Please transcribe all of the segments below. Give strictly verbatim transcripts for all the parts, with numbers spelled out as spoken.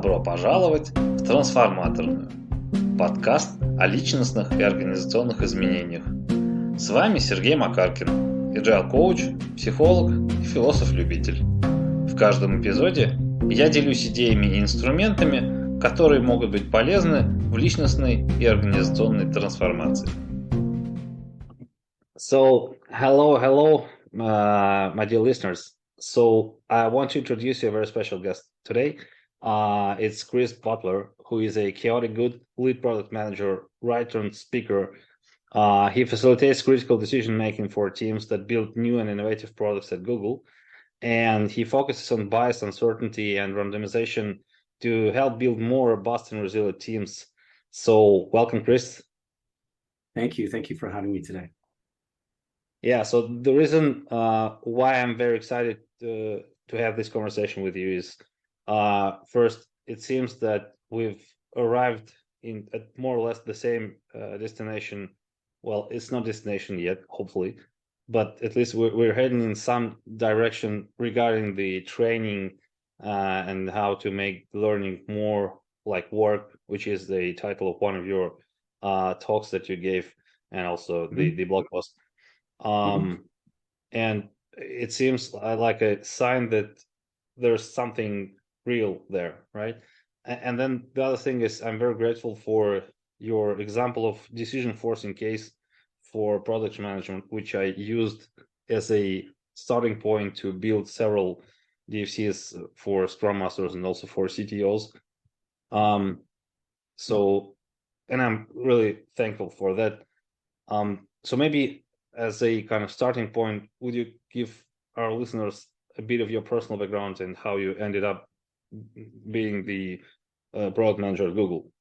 Добро пожаловать в «Трансформаторную» – подкаст о личностных и организационных изменениях. С вами Сергей Макаркин, эйджайл-коуч, психолог и философ-любитель. В каждом эпизоде я делюсь идеями и инструментами, которые могут быть полезны в личностной и организационной трансформации. So, hello, hello, uh, my dear listeners. So, I want to introduce you a very special guest today. Uh, it's Chris Butler, who is a chaotic good lead product manager, writer, and speaker. Uh, he facilitates critical decision making for teams that build new and innovative products at Google. And he focuses on bias, uncertainty, and randomization to help build more robust and resilient teams. So, welcome, Chris. Thank you. Thank you for having me today. Yeah, so the reason uh, why I'm very excited to, to have this conversation with you is uh, first, it seems that we've arrived in at more or less the same uh, destination. Well, it's not destination yet, hopefully, but at least we're, we're heading in some direction regarding the training uh, and how to make learning more like work, which is the title of one of your uh, talks that you gave, and also mm-hmm. the, the blog post. Um, mm-hmm. And it seems like a sign that there's something real there, right? And then the other thing is I'm very grateful for your example of decision forcing case for product management, which I used as a starting point to build several D F Cs for Scrum Masters and also for C T Os. Um, so, and I'm really thankful for that. Um, so maybe as a kind of starting point, would you give our listeners a bit of your personal background and how you ended up being the uh, product manager at Google?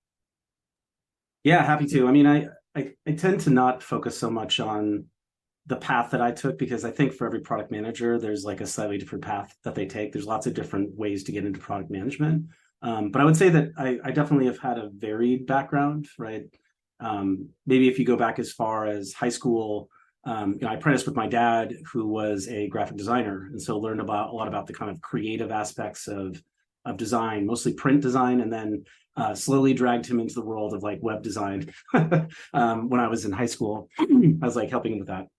Yeah, happy to. I mean, I, I, I tend to not focus so much on the path that I took, because I think for every product manager, there's like a slightly different path that they take. There's lots of different ways to get into product management. Um, but I would say that I, I definitely have had a varied background, right? Um, maybe if you go back as far as high school, Um, you know, I apprenticed with my dad, who was a graphic designer, and so learned about a lot about the kind of creative aspects of of design, mostly print design, and then uh, slowly dragged him into the world of like web design um, when I was in high school. I was like helping him with that.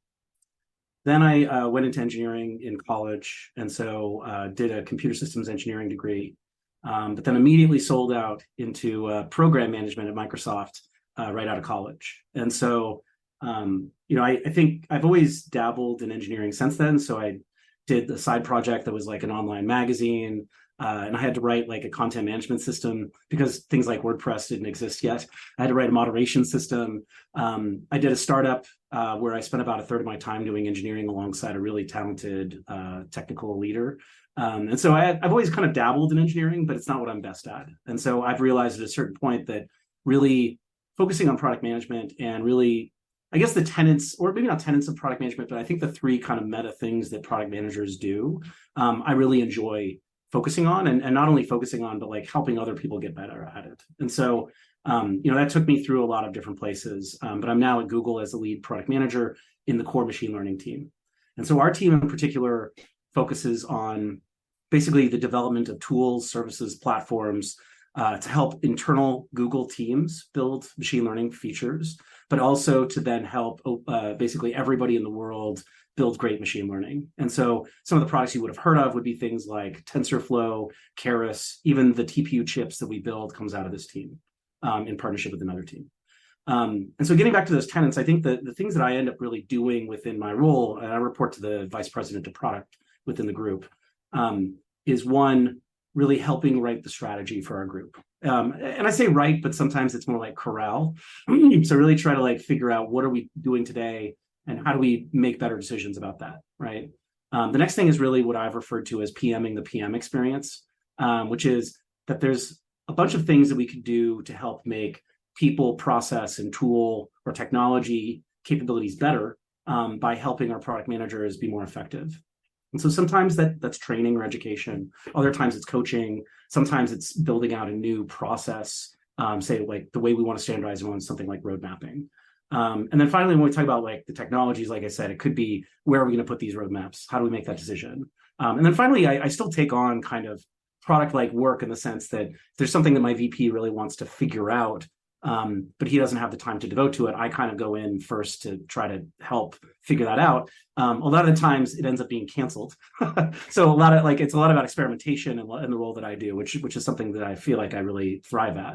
Then I uh, went into engineering in college, and so uh, did a computer systems engineering degree, um, but then immediately sold out into uh, program management at Microsoft uh, right out of college, and so. Um, you know, I, I think I've always dabbled in engineering since then. So I did a side project that was like an online magazine, uh, and I had to write like a content management system because things like WordPress didn't exist yet. I had to write a moderation system. Um, I did a startup uh, where I spent about a third of my time doing engineering alongside a really talented uh, technical leader. Um, and so I, I've always kind of dabbled in engineering, but it's not what I'm best at. And so I've realized at a certain point that really focusing on product management and really I guess the tenets, or maybe not tenets of product management, but I think the three kind of meta things that product managers do, um, I really enjoy focusing on, and, and not only focusing on, but like helping other people get better at it. And so, um, you know, that took me through a lot of different places, um, but I'm now at Google as the lead product manager in the core machine learning team. And so our team in particular focuses on basically the development of tools, services, platforms, Uh, to help internal Google teams build machine learning features, but also to then help uh, basically everybody in the world build great machine learning. And so some of the products you would have heard of would be things like TensorFlow, Keras, even the T P U chips that we build comes out of this team um, in partnership with another team. Um, and so getting back to those tenets, I think the, the things that I end up really doing within my role, and I report to the vice president of product within the group, um, is one, really helping write the strategy for our group. Um, and I say write, but sometimes it's more like corral. So really try to like figure out what are we doing today and how do we make better decisions about that, right? Um, the next thing is really what I've referred to as PMing the P M experience, um, which is that there's a bunch of things that we could do to help make people, process, and tool or technology capabilities better um, by helping our product managers be more effective. And so sometimes that that's training or education. Other times it's coaching. Sometimes it's building out a new process, um, say like the way we want to standardize on something like road mapping. Um, and then finally, when we talk about like the technologies, like I said, it could be where are we going to put these roadmaps? How do we make that decision? Um, and then finally, I, I still take on kind of product like work in the sense that if there's something that my V P really wants to figure out, um, but he doesn't have the time to devote to it, I kind of go in first to try to help figure that out. Um, a lot of the times it ends up being canceled. So a lot of like, it's a lot about experimentation and, and the role that I do, which, which is something that I feel like I really thrive at.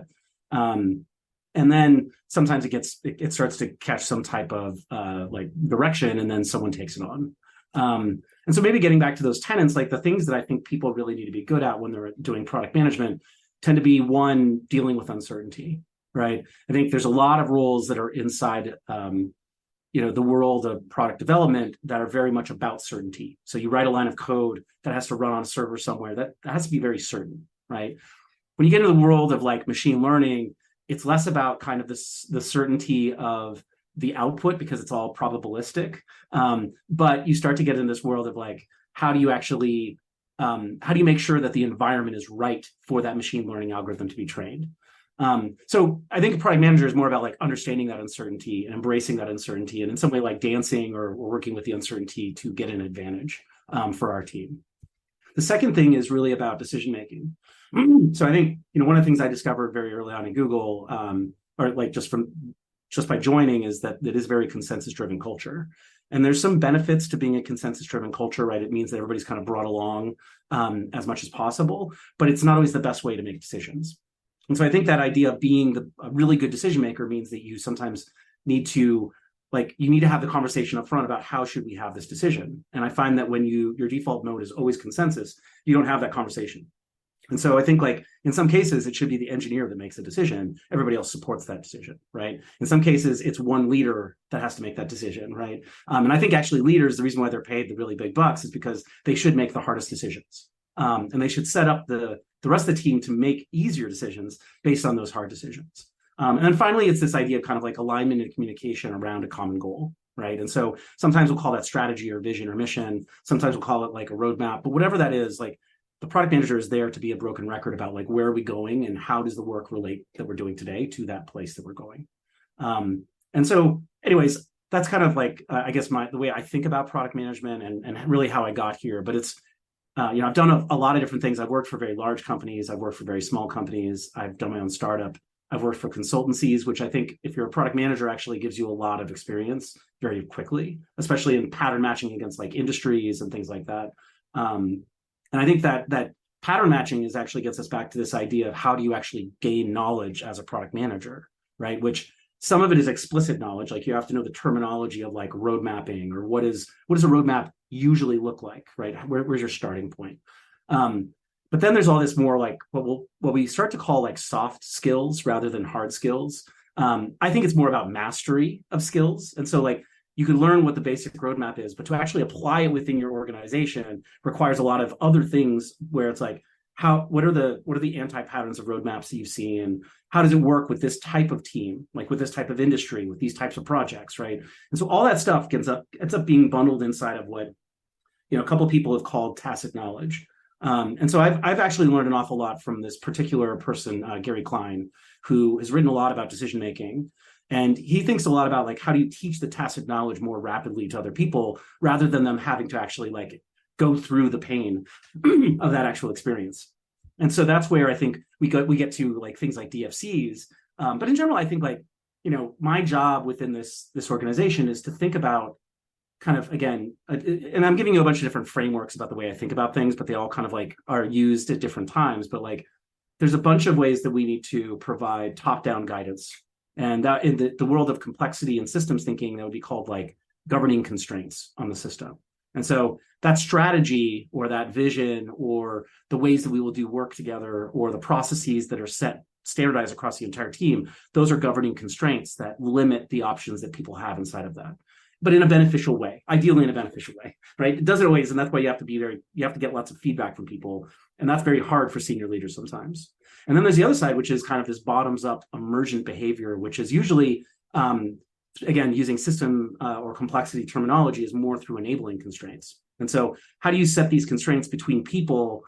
Um, and then sometimes it gets, it, it starts to catch some type of uh, like direction, and then someone takes it on. Um, and so maybe getting back to those tenets, like the things that I think people really need to be good at when they're doing product management tend to be, one, dealing with uncertainty, right? I think there's a lot of roles that are inside, um, you know, the world of product development that are very much about certainty. So you write a line of code that has to run on a server somewhere, that, that has to be very certain, right? When you get into the world of like machine learning, it's less about kind of this, the certainty of the output because it's all probabilistic. Um, but you start to get in this world of like, how do you actually, um, how do you make sure that the environment is right for that machine learning algorithm to be trained? Um, so I think a product manager is more about like understanding that uncertainty and embracing that uncertainty, and in some way like dancing or, or working with the uncertainty to get an advantage um, for our team. The second thing is really about decision making. So I think, you know, one of the things I discovered very early on in Google, um, or like just from just by joining, is that it is very consensus driven culture. And there's some benefits to being a consensus driven culture, right? It means that everybody's kind of brought along um, as much as possible, but it's not always the best way to make decisions. And so I think that idea of being the, a really good decision maker means that you sometimes need to, like, you need to have the conversation up front about how should we have this decision. And I find that when you, your default mode is always consensus, you don't have that conversation. And so I think like in some cases, it should be the engineer that makes the decision. Everybody else supports that decision, right? In some cases, it's one leader that has to make that decision, right? Um, and I think actually leaders, the reason why they're paid the really big bucks is because they should make the hardest decisions. Um, and they should set up the, the rest of the team to make easier decisions based on those hard decisions. Um, and then finally, it's this idea of kind of like alignment and communication around a common goal, right? And so sometimes we'll call that strategy or vision or mission. Sometimes we'll call it like a roadmap, but whatever that is, like, the product manager is there to be a broken record about like, where are we going and how does the work relate that we're doing today to that place that we're going. Um, and so anyways, that's kind of like, uh, I guess my, the way I think about product management and, and really how I got here. But it's, uh, you know, I've done a, a lot of different things. I've worked for very large companies. I've worked for very small companies. I've done my own startup. I've worked for consultancies, which I think if you're a product manager actually gives you a lot of experience very quickly, especially in pattern matching against like industries and things like that. Um, And I think that that pattern matching is actually gets us back to this idea of how do you actually gain knowledge as a product manager, right? Which some of it is explicit knowledge, like you have to know the terminology of like road mapping or what is what does a roadmap usually look like, right? Where, where's your starting point? Um, but then there's all this more like what we'll, what we start to call like soft skills rather than hard skills. Um, I think it's more about mastery of skills, and so like. You can learn what the basic roadmap is, but to actually apply it within your organization requires a lot of other things where it's like, how, what are the, what are the anti-patterns of roadmaps that you've seen? How does it work with this type of team, like with this type of industry, with these types of projects, right? And so all that stuff ends up, ends up being bundled inside of what, you know, a couple of people have called tacit knowledge. Um, and so I've, I've actually learned an awful lot from this particular person, uh, Gary Klein, who has written a lot about decision-making. And he thinks a lot about like, how do you teach the tacit knowledge more rapidly to other people rather than them having to actually like go through the pain of that actual experience. And so that's where I think we go, we get to like things like D F Cs. Um, but in general, I think like, you know, my job within this, this organization is to think about kind of, again, uh, and I'm giving you a bunch of different frameworks about the way I think about things, but they all kind of like are used at different times. But like, there's a bunch of ways that we need to provide top-down guidance. And that in the, the world of complexity and systems thinking, that would be called like governing constraints on the system. And so that strategy or that vision or the ways that we will do work together or the processes that are set, standardized across the entire team, those are governing constraints that limit the options that people have inside of that, but in a beneficial way, ideally in a beneficial way, right? It doesn't always, and that's why you have to be very, you have to get lots of feedback from people. And that's very hard for senior leaders sometimes. And then there's the other side, which is kind of this bottoms up emergent behavior, which is usually, um, again, using system uh, or complexity terminology is more through enabling constraints. And so how do you set these constraints between people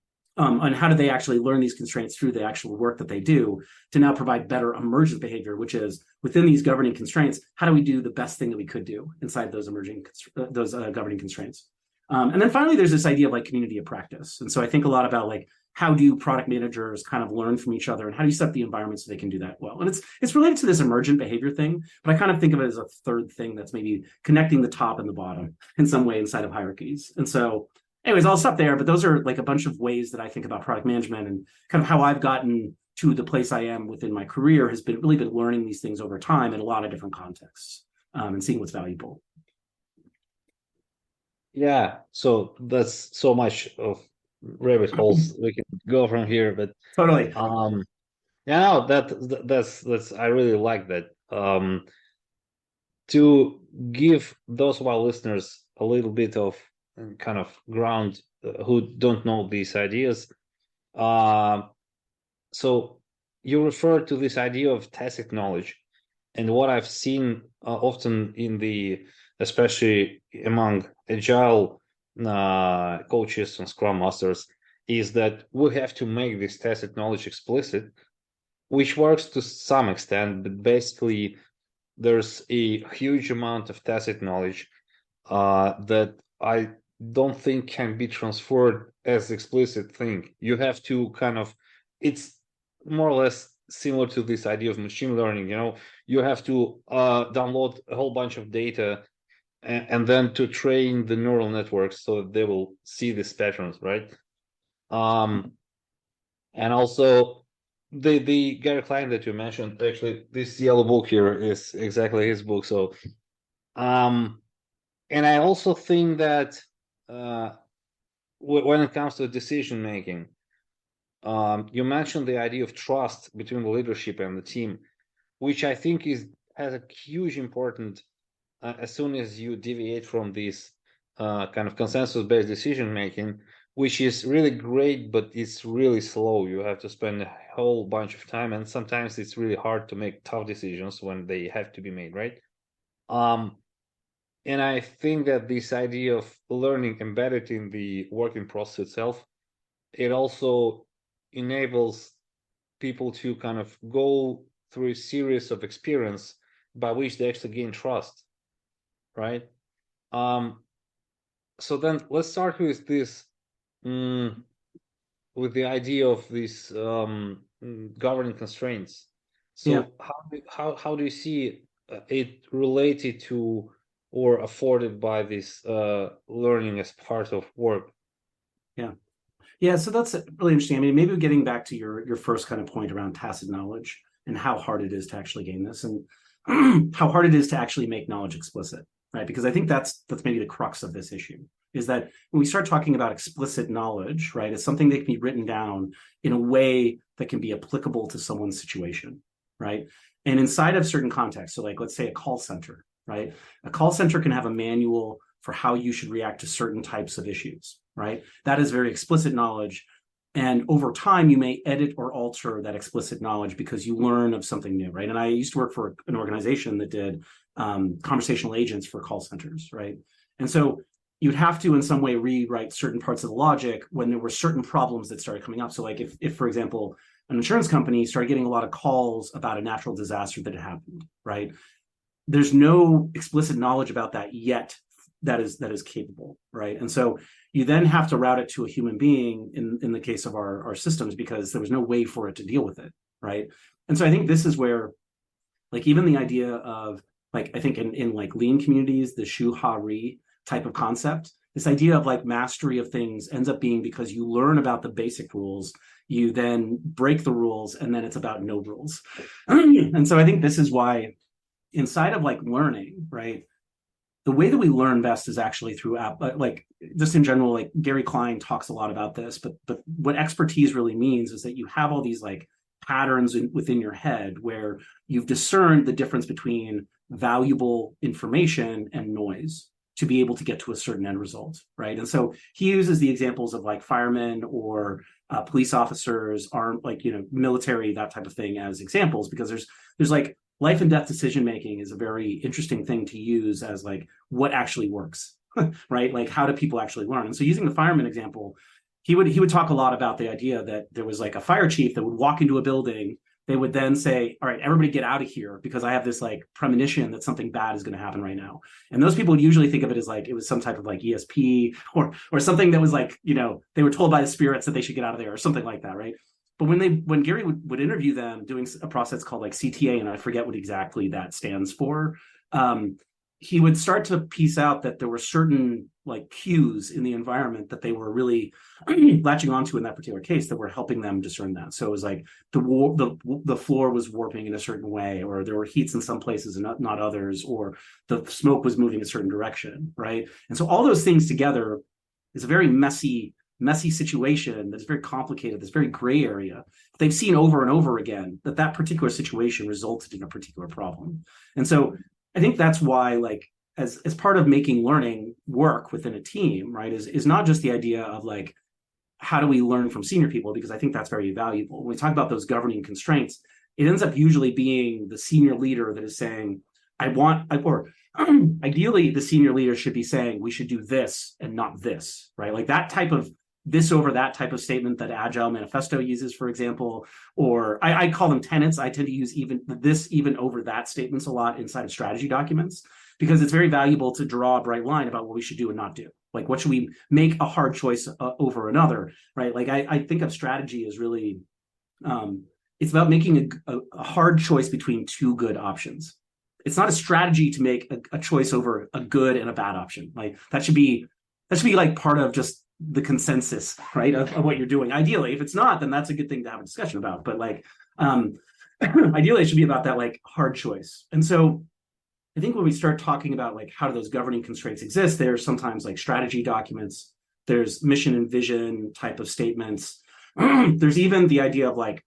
um, and how do they actually learn these constraints through the actual work that they do to now provide better emergent behavior, which is within these governing constraints, how do we do the best thing that we could do inside those emerging, uh, those uh, governing constraints? Um, and then finally, there's this idea of like community of practice. And so I think a lot about like, how do product managers kind of learn from each other, and how do you set the environment so they can do that well? And it's it's related to this emergent behavior thing, but I kind of think of it as a third thing that's maybe connecting the top and the bottom in some way inside of hierarchies. And so anyways, I'll stop there, but those are like a bunch of ways that I think about product management, and kind of how I've gotten to the place I am within my career has been really been learning these things over time in a lot of different contexts, um, and seeing what's valuable. Yeah, so that's so much of rabbit holes we can go from here, but Totally. um, yeah, no, that that's that's I really like that. Um, to give those of our listeners a little bit of uh, kind of ground uh, who don't know these ideas. Uh, so you refer to this idea of tacit knowledge, and what I've seen uh, often in the, especially among agile uh, coaches and scrum masters, is that we have to make this tacit knowledge explicit, which works to some extent, but basically there's a huge amount of tacit knowledge uh, that I don't think can be transferred as explicit thing. You have to kind of, it's more or less similar to this idea of machine learning. You know, you have to uh, download a whole bunch of data and, and then to train the neural networks so that they will see these patterns, right? Um, and also the the Gary Klein that you mentioned, actually, this yellow book here is exactly his book. So, um, and I also think that uh, w- when it comes to decision making, um, you mentioned the idea of trust between the leadership and the team, which I think is has a huge important uh, as soon as you deviate from this uh, kind of consensus-based decision making, which is really great, but it's really slow. You have to spend a whole bunch of time, and sometimes it's really hard to make tough decisions when they have to be made, right? Um, and I think that this idea of learning embedded in the working process itself, it also enables people to kind of go through a series of experience by which they actually gain trust, right? Um, so then let's start with this, um, with the idea of these um, governing constraints. So Yeah. how do, how how do you see uh, it related to or afforded by this uh, learning as part of work? Yeah. Yeah, so that's really interesting. I mean, maybe getting back to your your first kind of point around tacit knowledge and how hard it is to actually gain this, and how hard it is to actually make knowledge explicit, right? Because I think that's that's maybe the crux of this issue, is that when we start talking about explicit knowledge, right, it's something that can be written down in a way that can be applicable to someone's situation, right? And inside of certain contexts, so like let's say a call center, right? A call center can have a manual for how you should react to certain types of issues, right? That is very explicit knowledge. And over time, you may edit or alter that explicit knowledge because you learn of something new, right? And I used to work for an organization that did um, conversational agents for call centers, right? And so you'd have to, in some way, rewrite certain parts of the logic when there were certain problems that started coming up. So like if, if for example, an insurance company started getting a lot of calls about a natural disaster that had happened, right? There's no explicit knowledge about that yet that is that is capable, right? And so you then have to route it to a human being in, in the case of our, our systems, because there was no way for it to deal with it, right? And so I think this is where, like, even the idea of, like, I think in, in like lean communities, the shu ha ri type of concept, this idea of like mastery of things ends up being because you learn about the basic rules, you then break the rules, and then it's about no rules. And so I think this is why inside of like learning, right, the way that we learn best is actually through app, like just in general, like Gary Klein talks a lot about this, but but what expertise really means is that you have all these like patterns in, within your head where you've discerned the difference between valuable information and noise to be able to get to a certain end result, right? And so he uses the examples of like firemen or uh, police officers, armed, like, you know, military, that type of thing as examples, because there's there's like life and death decision making is a very interesting thing to use as like what actually works, right? Like how do people actually learn? And so using the fireman example, he would he would talk a lot about the idea that there was like a fire chief that would walk into a building they would then say, all right, everybody get out of here because I have this like premonition that something bad is going to happen right now. And those people would usually think of it as like it was some type of like E S P or or something that was like, you know, they were told by the spirits that they should get out of there or something like that, right? But when they when Gary would, would interview them doing a process called like C T A, and I forget what exactly that stands for, um, he would start to piece out that there were certain like cues in the environment that they were really latching onto in that particular case that were helping them discern that. So it was like the war, the the floor was warping in a certain way, or there were heats in some places and not, not others, or the smoke was moving a certain direction, right? And so all those things together is a very messy, messy situation that's very complicated, that's very gray area. They've seen over and over again that that particular situation resulted in a particular problem. And so I think that's why, like, as as part of making learning work within a team, right, is is not just the idea of like, how do we learn from senior people? Because I think that's very valuable. When we talk about those governing constraints, it ends up usually being the senior leader that is saying, I want, or ideally the senior leader should be saying, we should do this and not this, right? Like that type of this over that type of statement that Agile Manifesto uses, for example, or I, I call them tenets. I tend to use even this even over that statements a lot inside of strategy documents, because it's very valuable to draw a bright line about what we should do and not do. Like, what should we make a hard choice uh, over another, right? Like, I, I think of strategy as really, um, it's about making a, a, a hard choice between two good options. It's not a strategy to make a, a choice over a good and a bad option. Like, that should be, that should be like part of just the consensus, right, of, of what you're doing. Ideally, if it's not, then that's a good thing to have a discussion about. But like, um, ideally, it should be about that like hard choice. And so I think when we start talking about like how do those governing constraints exist, there's sometimes like strategy documents, there's mission and vision type of statements. There's even the idea of like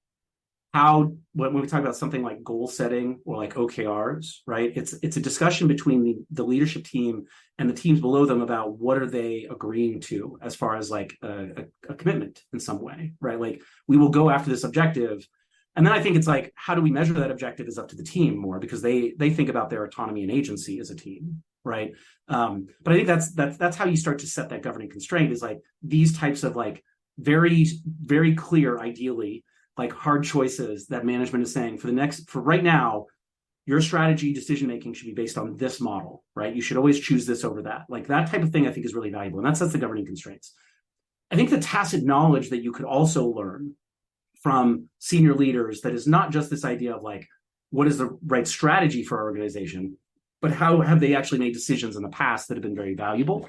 how, when we talk about something like goal setting or like O K Rs, right? It's it's a discussion between the, the leadership team and the teams below them about what are they agreeing to as far as like a, a, a commitment in some way, right? Like, we will go after this objective. And then I think it's like, how do we measure that objective is up to the team more, because they they think about their autonomy and agency as a team, right? Um, but I think that's that's that's how you start to set that governing constraint, is like these types of like very, very clear, ideally, like hard choices that management is saying for the next, for right now, your strategy decision making should be based on this model, right? You should always choose this over that. Like that type of thing I think is really valuable. And that sets the governing constraints. I think the tacit knowledge that you could also learn from senior leaders that is not just this idea of like, what is the right strategy for our organization, but how have they actually made decisions in the past that have been very valuable,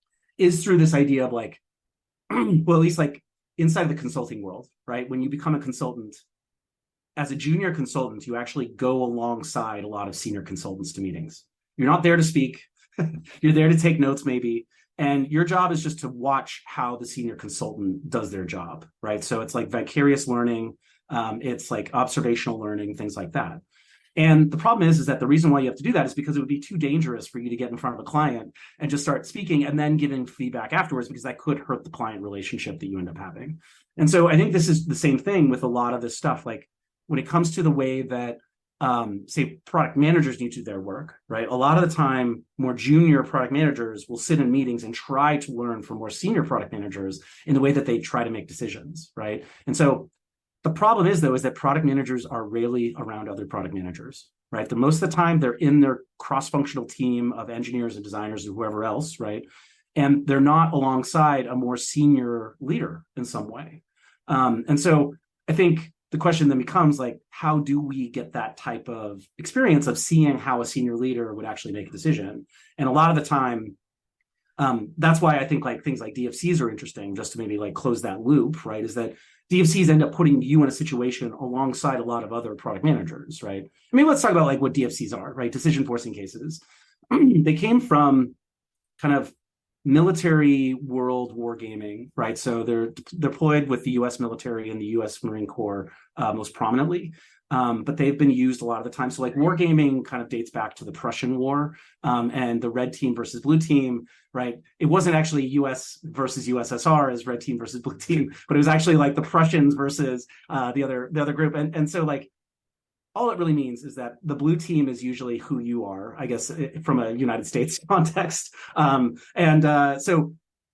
is through this idea of like, well, at least like inside the consulting world, right? When you become a consultant, as a junior consultant, you actually go alongside a lot of senior consultants to meetings. You're not there to speak. You're there to take notes maybe. And your job is just to watch how the senior consultant does their job, right? So it's like vicarious learning. Um, it's like observational learning, things like that. And the problem is, is that the reason why you have to do that is because it would be too dangerous for you to get in front of a client and just start speaking and then giving feedback afterwards, because that could hurt the client relationship that you end up having. And so I think this is the same thing with a lot of this stuff. Like when it comes to the way that, um, say, product managers need to do their work, right? A lot of the time, more junior product managers will sit in meetings and try to learn from more senior product managers in the way that they try to make decisions, right? And so the problem is, though, is that product managers are rarely around other product managers, right? The most of the time, they're in their cross-functional team of engineers and designers and whoever else, right? And they're not alongside a more senior leader in some way. Um, and so I think the question then becomes like, how do we get that type of experience of seeing how a senior leader would actually make a decision? And a lot of the time, um, that's why I think like things like D F Cs are interesting, just to maybe like close that loop, right? Is that D F Cs end up putting you in a situation alongside a lot of other product managers, right? I mean, let's talk about like what D F Cs are, right? Decision forcing cases. They came from kind of military world wargaming, right? So they're deployed with the U S military and the U S Marine Corps uh, most prominently. Um, but they've been used a lot of the time. So like wargaming kind of dates back to the Prussian War um, and the red team versus blue team, right? It wasn't actually U S versus U S S R as red team versus blue team, but it was actually like the Prussians versus uh, the other the other group. And, and so like, all it really means is that the blue team is usually who you are, I guess, from a United States context. Um, and uh, so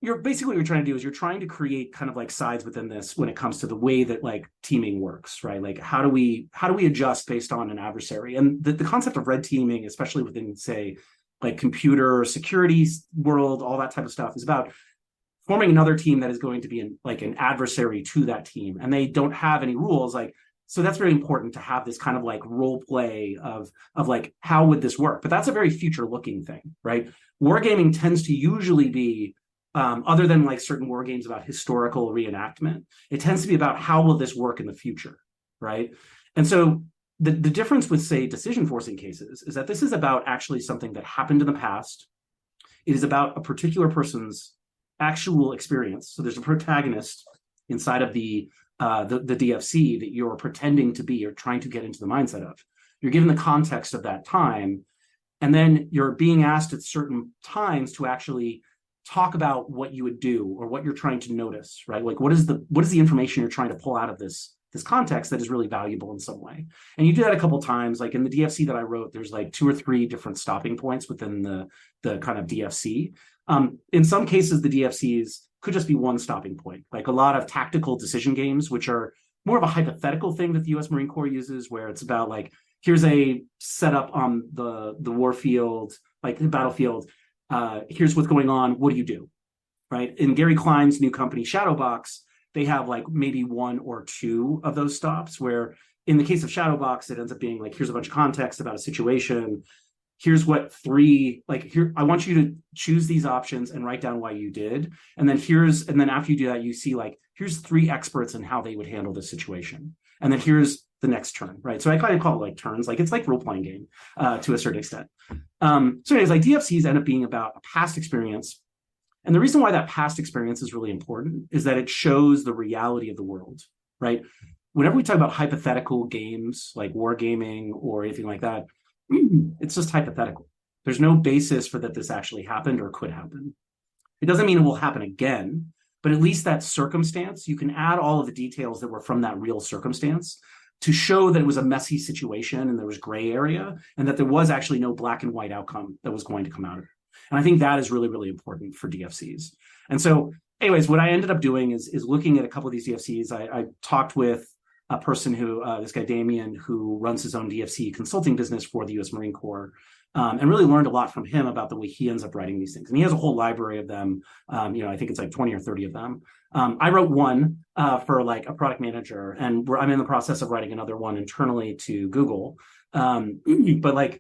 you're basically what you're trying to do is you're trying to create kind of like sides within this when it comes to the way that like teaming works, right? Like how do we how do we adjust based on an adversary? And the, the concept of red teaming, especially within, say, like computer security world, all that type of stuff, is about forming another team that is going to be an, like an adversary to that team, and they don't have any rules. Like, so that's very important to have this kind of like role play of of like how would this work? But that's a very future looking thing, right? Wargaming tends to usually be um, other than like certain war games about historical reenactment, it tends to be about how will this work in the future, right? And so the, the difference with, say, decision forcing cases is that this is about actually something that happened in the past. It is about a particular person's actual experience. So there's a protagonist inside of the, uh, the, the D F C that you're pretending to be or trying to get into the mindset of. You're given the context of that time, and then you're being asked at certain times to actually talk about what you would do or what you're trying to notice, right? Like what is the what is the information you're trying to pull out of this this context that is really valuable in some way? And you do that a couple of times. Like in the D F C that I wrote, there's like two or three different stopping points within the the kind of D F C. Um, in some cases, the D F Cs could just be one stopping point, like a lot of tactical decision games, which are more of a hypothetical thing that the U S Marine Corps uses, where it's about like, here's a setup on the the war field, like the battlefield. Uh, here's what's going on. What do you do, right? In Gary Klein's new company, Shadowbox, they have like maybe one or two of those stops, where in the case of Shadowbox, it ends up being like, here's a bunch of context about a situation. Here's what three, like here, I want you to choose these options and write down why you did. And then here's, and then after you do that, you see like, here's three experts in how they would handle this situation. And then here's the next turn, right? So I kind of call it like turns, like it's like role-playing game uh, to a certain extent. Um, so anyways, like D F Cs end up being about a past experience. And the reason why that past experience is really important is that it shows the reality of the world, right? Whenever we talk about hypothetical games like wargaming or anything like that, it's just hypothetical. There's no basis for that this actually happened or could happen. It doesn't mean it will happen again, but at least that circumstance, you can add all of the details that were from that real circumstance to show that it was a messy situation and there was gray area and that there was actually no black and white outcome that was going to come out of it. And I think that is really, really important for D F Cs. And so anyways, what I ended up doing is, is looking at a couple of these D F Cs. I, I talked with a person who, uh, this guy, Damien, who runs his own D F C consulting business for the U S Marine Corps, um, and really learned a lot from him about the way he ends up writing these things. And he has a whole library of them. Um, you know, I think it's like twenty or thirty of them. Um, I wrote one uh, for like a product manager, and we're, I'm in the process of writing another one internally to Google. Um, but like,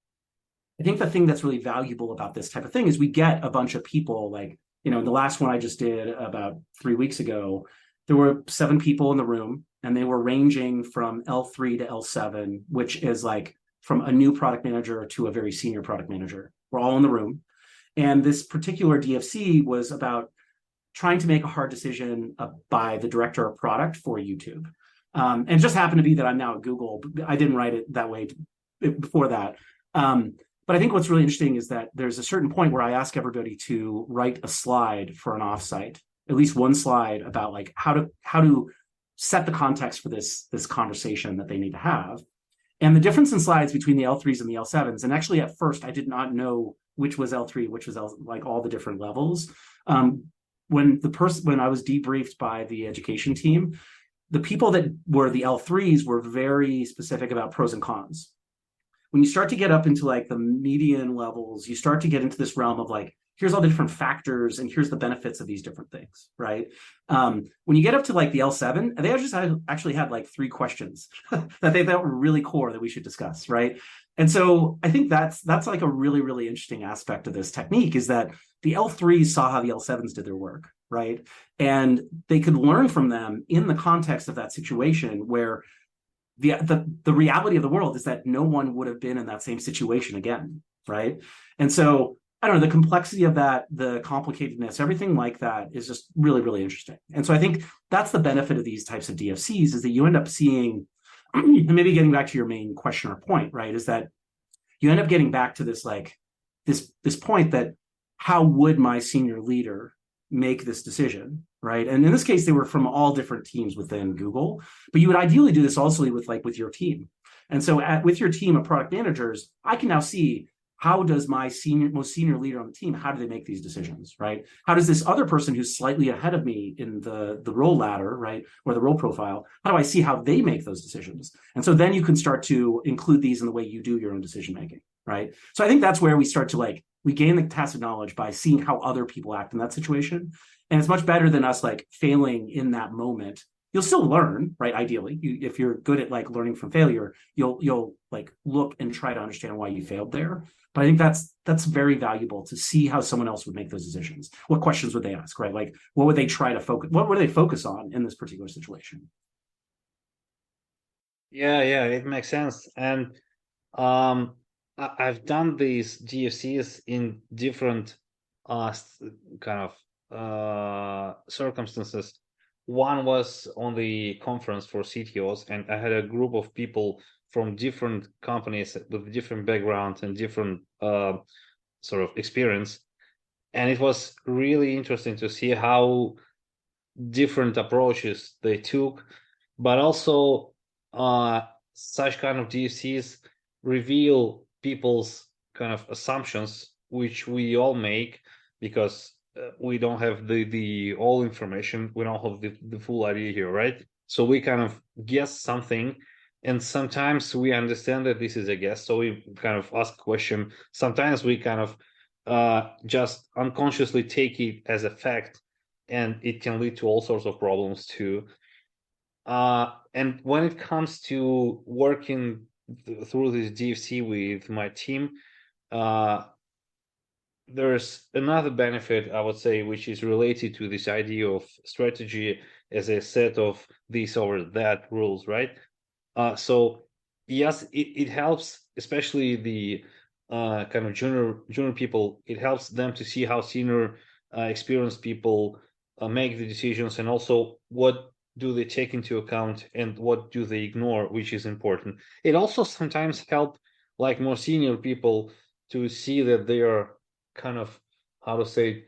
I think the thing that's really valuable about this type of thing is we get a bunch of people, like, you know, the last one I just did about three weeks ago, there were seven people in the room, and they were ranging from L three to L seven, which is like from a new product manager to a very senior product manager. We're all in the room. And this particular D F C was about trying to make a hard decision uh, by the director of product for YouTube. Um, and it just happened to be that I'm now at Google. I didn't write it that way before that. Um, but I think what's really interesting is that there's a certain point where I ask everybody to write a slide for an offsite, at least one slide about like how to how to set the context for this, this conversation that they need to have. And the difference in slides between the L threes and the L sevens, and actually at first I did not know which was L three, which was L, like all the different levels. Um, when the person, when I was debriefed by the education team, the people that were the L threes were very specific about pros and cons. When you start to get up into like the median levels, you start to get into this realm of like, here's all the different factors and here's the benefits of these different things, right? Um, when you get up to like the L seven, they just had, actually had like three questions that they thought were really core that we should discuss, right? And so I think that's that's like a really, really interesting aspect of this technique is that the L threes saw how the L sevens did their work, right? And they could learn from them in the context of that situation where the, the, the reality of the world is that no one would have been in that same situation again, right? And so I don't know, the complexity of that, the complicatedness, everything like that is just really, really interesting. And so I think that's the benefit of these types of D F Cs is that you end up seeing, and maybe getting back to your main question or point, right, is that you end up getting back to this like this this point that how would my senior leader make this decision, right? And in this case, they were from all different teams within Google, but you would ideally do this also with like with your team. And so at, with your team of product managers, I can now see how does my senior, most senior leader on the team, how do they make these decisions, right? How does this other person who's slightly ahead of me in the, the role ladder, right, or the role profile, how do I see how they make those decisions? And so then you can start to include these in the way you do your own decision making, right? So I think that's where we start to like, we gain the tacit knowledge by seeing how other people act in that situation. And it's much better than us like failing in that moment. You'll still learn, right? Ideally, you, if you're good at like learning from failure, you'll you'll like look and try to understand why you failed there. But I think that's that's very valuable to see how someone else would make those decisions. What questions would they ask, right? Like, what would they try to focus? What would they focus on in this particular situation? Yeah, yeah, it makes sense. And um, I, I've done these D F Cs in different uh kind of uh circumstances. One was on the conference for C T Os, and I had a group of people from different companies with different backgrounds and different uh, sort of experience. And it was really interesting to see how different approaches they took, but also uh, such kind of D F Cs reveal people's kind of assumptions, which we all make because uh, we don't have the the all information, we don't have the, the full idea here, right? So we kind of guess something, and sometimes we understand that this is a guess, so we kind of ask a question. Sometimes we kind of uh, just unconsciously take it as a fact, and it can lead to all sorts of problems too. Uh, and when it comes to working th- through this D F C with my team, uh, there's another benefit, I would say, which is related to this idea of strategy as a set of this or that rules, right? Uh, so yes, it, it helps, especially the uh, kind of junior junior people. It helps them to see how senior, uh, experienced people uh, make the decisions, and also what do they take into account and what do they ignore, which is important. It also sometimes help like more senior people to see that they are kind of, how to say,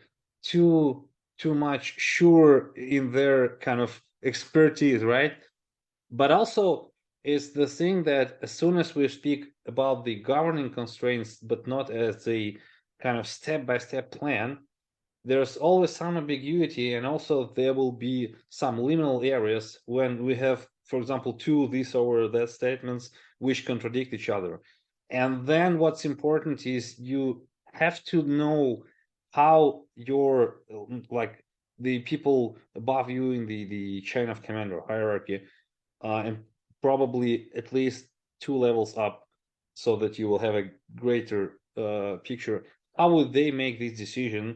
too too much sure in their kind of expertise, right? But also is the thing that as soon as we speak about the governing constraints, but not as a kind of step-by-step plan, there's always some ambiguity, and also there will be some liminal areas when we have, for example, two this or that statements which contradict each other. And then what's important is you have to know how your, like, the people above you in the the chain of command or hierarchy, uh, and probably at least two levels up, so that you will have a greater uh, picture. How would they make this decision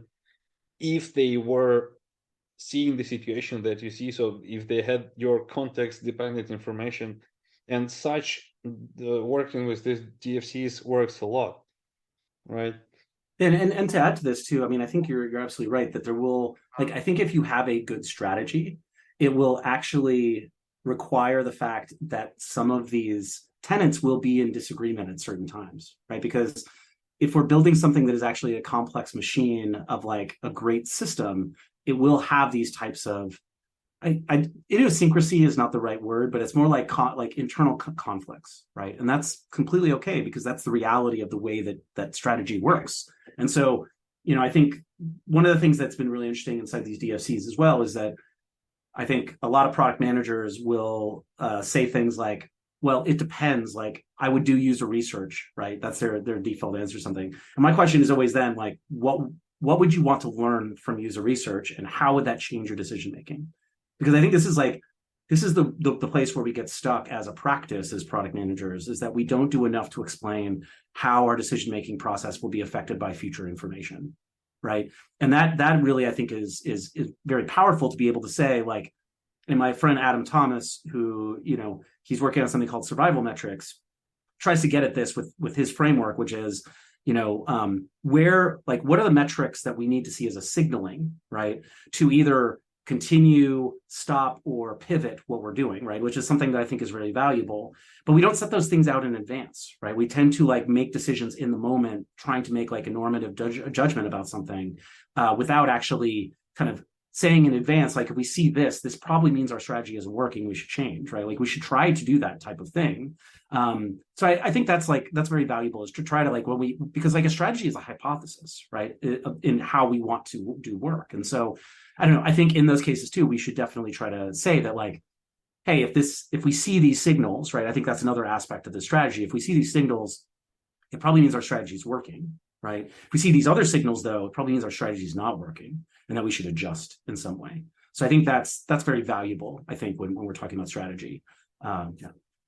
if they were seeing the situation that you see? So if they had your context dependent information and such, the working with these D F Cs works a lot, right? And, and and to add to this too, I mean, I think you're you're absolutely right that there will, like, I think if you have a good strategy, it will actually require the fact that some of these tenants will be in disagreement at certain times, right? Because if we're building something that is actually a complex machine of like a great system, it will have these types of, I, I idiosyncrasy is not the right word, but it's more like con, like internal co- conflicts, right? And that's completely okay because that's the reality of the way that that strategy works. And so, you know, I think one of the things that's been really interesting inside these D F Cs as well is that I think a lot of product managers will uh, say things like, "Well, it depends. Like, I would do user research, right? That's their their default answer or something." And my question is always then, like, what what would you want to learn from user research, and how would that change your decision making? Because I think this is like this is the, the the place where we get stuck as a practice as product managers, is that we don't do enough to explain how our decision making process will be affected by future information, right? And that that really, I think, is is is very powerful to be able to say, like, and my friend Adam Thomas, who, you know, he's working on something called survival metrics, tries to get at this with with his framework, which is, you know, um, where, like, what are the metrics that we need to see as a signaling, right, to either continue, stop, or pivot what we're doing, right? Which is something that I think is really valuable. But we don't set those things out in advance, right? We tend to like make decisions in the moment, trying to make like a normative judge, judgment about something uh, without actually kind of saying in advance, like, if we see this, this probably means our strategy isn't working. We should change, right? Like, we should try to do that type of thing. Um, so I, I think that's like, that's very valuable, is to try to, like, when we, because like a strategy is a hypothesis, right? In how we want to do work. And so I don't know, I think in those cases too, we should definitely try to say that, like, hey, if this, if we see these signals, right? I think that's another aspect of the strategy. If we see these signals, it probably means our strategy is working, right? If we see these other signals, though, it probably means our strategy is not working, and that we should adjust in some way. So I think that's that's very valuable, I think, when, when we're talking about strategy. Um,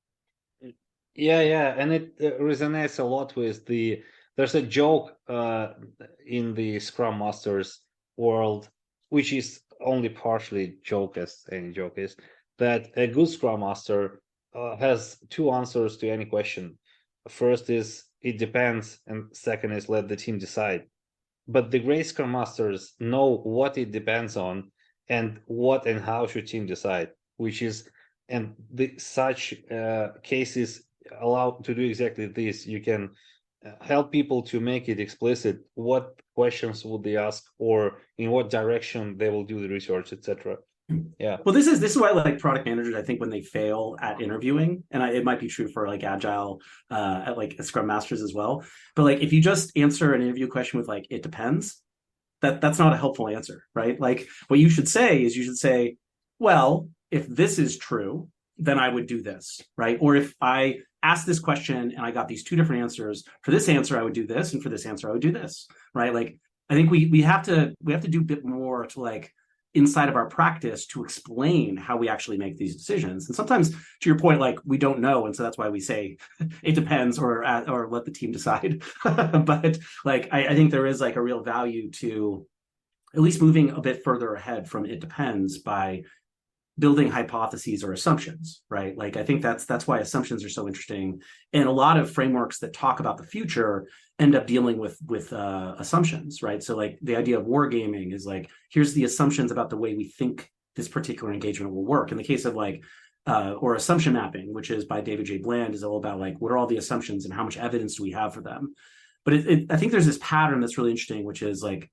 yeah. Yeah, yeah, and it uh, resonates a lot with the. There's a joke uh, in the Scrum Masters world, which is only partially joke, as any joke is, that a good Scrum Master uh, has two answers to any question. First is it depends, and second is let the team decide. But the great Scrum Masters know what it depends on and what and how should team decide, which is, and the such uh, cases allow to do exactly this. You can help people to make it explicit what questions would they ask, or in what direction they will do the research, et cetera. Yeah. Well, this is this is why, like, product managers, I think, when they fail at interviewing, and I, it might be true for like agile, uh, at like Scrum Masters as well. But like, if you just answer an interview question with like "it depends," that that's not a helpful answer, right? Like, what you should say is you should say, "Well, if this is true, then I would do this," right? Or if I asked this question and I got these two different answers, for this answer I would do this, and for this answer I would do this, right? Like, I think we we have to we have to do a bit more to, like, inside of our practice, to explain how we actually make these decisions. And sometimes, to your point, like, we don't know, and so that's why we say it depends, or or let the team decide. But like, I, I think there is like a real value to at least moving a bit further ahead from "it depends" by building hypotheses or assumptions, right? Like, I think that's that's why assumptions are so interesting. And a lot of frameworks that talk about the future end up dealing with with uh, assumptions, right? So like, the idea of wargaming is like, here's the assumptions about the way we think this particular engagement will work. In the case of like, uh, or assumption mapping, which is by David J. Bland, is all about like, what are all the assumptions and how much evidence do we have for them? But it, it, I think there's this pattern that's really interesting, which is like,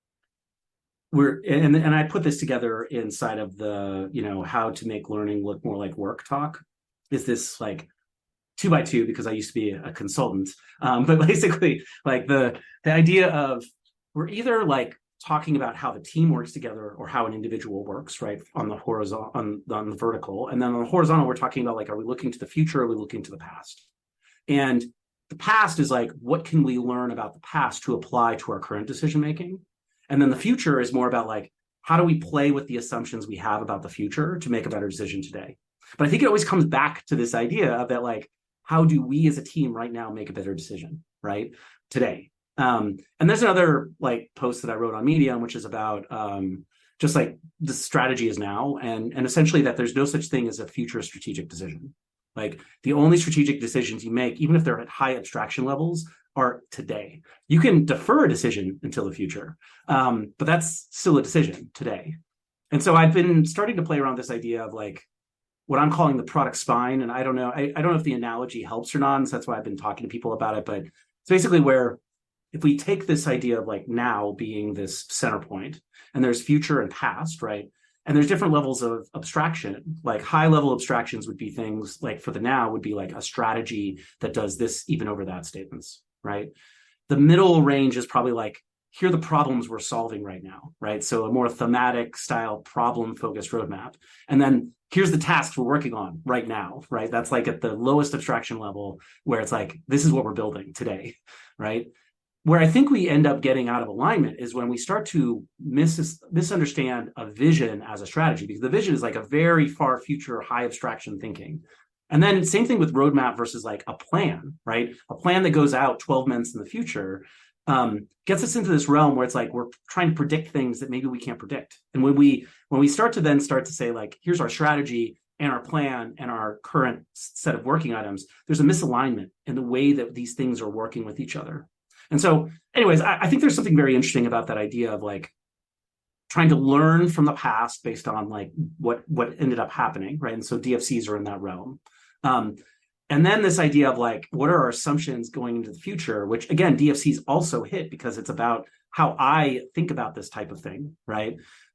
we're and and I put this together inside of the, you know, how to make learning look more like work talk. Is this like two by two, because I used to be a consultant, um, but basically like the the idea of, we're either like talking about how the team works together or how an individual works, right, on the horizontal, on, on the vertical, and then on the horizontal we're talking about like, are we looking to the future, or are we looking to the past? And the past is like, what can we learn about the past to apply to our current decision making? And then the future is more about like, how do we play with the assumptions we have about the future to make a better decision today? But I think it always comes back to this idea of that, like, how do we as a team right now make a better decision, right, today? Um, and there's another like post that I wrote on Medium, which is about um, just like the strategy is now, and and essentially that there's no such thing as a future strategic decision. Like, the only strategic decisions you make, even if they're at high abstraction levels, are today. You can defer a decision until the future, um, but that's still a decision today. And so I've been starting to play around this idea of like what I'm calling the product spine. And I don't know, I, I don't know if the analogy helps or not. And so that's why I've been talking to people about it. But it's basically where, if we take this idea of like now being this center point, and there's future and past, right? And there's different levels of abstraction. Like, high level abstractions would be things like, for the now would be like a strategy that does this even over that statements, right? The middle range is probably like, here are the problems we're solving right now, right? So a more thematic style problem focused roadmap. And then here's the tasks we're working on right now, right? That's like at the lowest abstraction level, where it's like, this is what we're building today, right? Where I think we end up getting out of alignment is when we start to mis- misunderstand a vision as a strategy, because the vision is like a very far future, high abstraction thinking. And then same thing with roadmap versus like a plan, right? A plan that goes out twelve months in the future um, gets us into this realm where it's like, we're trying to predict things that maybe we can't predict. And when we when we start to then start to say like, here's our strategy and our plan and our current set of working items, there's a misalignment in the way that these things are working with each other. And so anyways, I, I think there's something very interesting about that idea of like trying to learn from the past based on like what, what ended up happening, right? And so D F Cs are in that realm. Um, and then this idea of like, what are our assumptions going into the future, which again, D F Cs also hit because it's about how I think about this type of thing, right?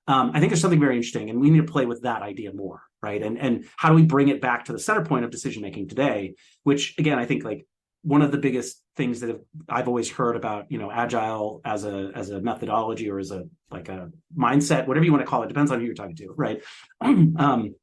Um, I think there's something very interesting, and we need to play with that idea more, right? And and how do we bring it back to the center point of decision making today? Which again, I think like one of the biggest things that have, I've always heard about, you know, agile as a as a methodology or as a like a mindset, whatever you want to call it, depends on who you're talking to, right? um,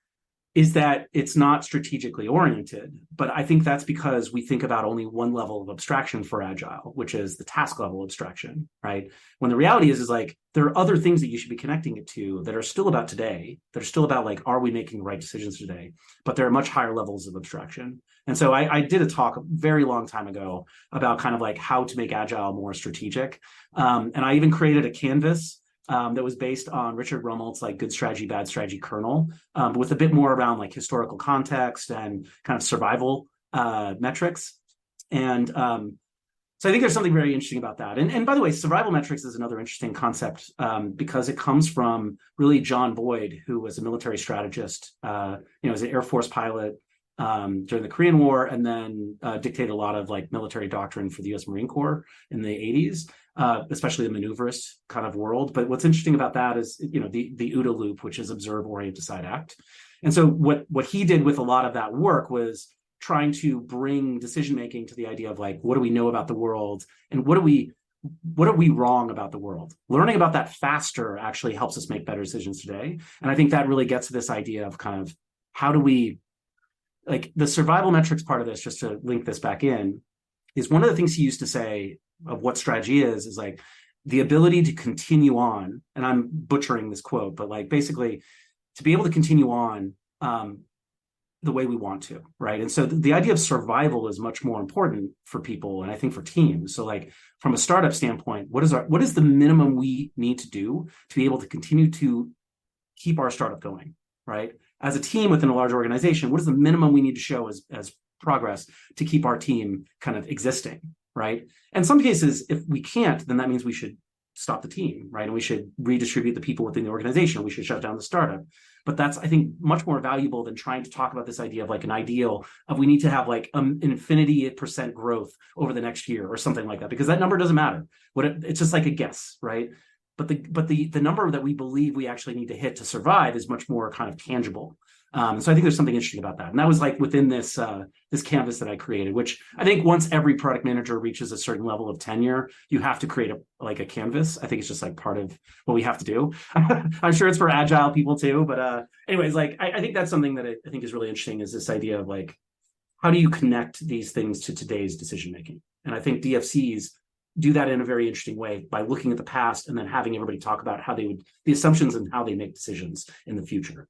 is that it's not strategically oriented. But I think that's because we think about only one level of abstraction for agile, which is the task level abstraction, right? When the reality is, is like there are other things that you should be connecting it to that are still about today, that are still about like, are we making the right decisions today? But there are much higher levels of abstraction. And so I, I did a talk a very long time ago about kind of like how to make agile more strategic. Um, and I even created a canvas Um, that was based on Richard Rummelt's like Good Strategy, Bad Strategy kernel, um, but with a bit more around like historical context and kind of survival uh, metrics. And um, so I think there's something very interesting about that. And, and by the way, survival metrics is another interesting concept um, because it comes from really John Boyd, who was a military strategist, uh, you know, as an Air Force pilot um, during the Korean War, and then uh, dictated a lot of like military doctrine for the U S Marine Corps in the eighties. Uh, especially the maneuverist kind of world. But what's interesting about that is, you know, the the OODA loop, which is observe, orient, decide, act. And so what what he did with a lot of that work was trying to bring decision making to the idea of like, what do we know about the world, and what do we what are we wrong about the world? Learning about that faster actually helps us make better decisions today. And I think that really gets to this idea of kind of how do we like the survival metrics part of this, just to link this back in, is one of the things he used to say of what strategy is, is like the ability to continue on. And I'm butchering this quote, but like basically to be able to continue on um, the way we want to, right? And so the, the idea of survival is much more important for people, and I think for teams. So like from a startup standpoint, what is our what is the minimum we need to do to be able to continue to keep our startup going, right? As a team within a large organization, what is the minimum we need to show as as progress to keep our team kind of existing, right? In some cases, if we can't, then that means we should stop the team, right? And we should redistribute the people within the organization. We should shut down the startup. But that's, I think, much more valuable than trying to talk about this idea of like an ideal of we need to have like um, an infinity percent growth over the next year or something like that, because that number doesn't matter. What it, it's just like a guess, right? But the but the the number that we believe we actually need to hit to survive is much more kind of tangible. Um, so I think there's something interesting about that. And that was like within this uh, this canvas that I created, which I think once every product manager reaches a certain level of tenure, you have to create a like a canvas. I think it's just like part of what we have to do. I'm sure it's for agile people too. But uh, anyways, like I, I think that's something that I, I think is really interesting, is this idea of like, how do you connect these things to today's decision making? And I think D F Cs do that in a very interesting way by looking at the past and then having everybody talk about how they would, the assumptions and how they make decisions in the future.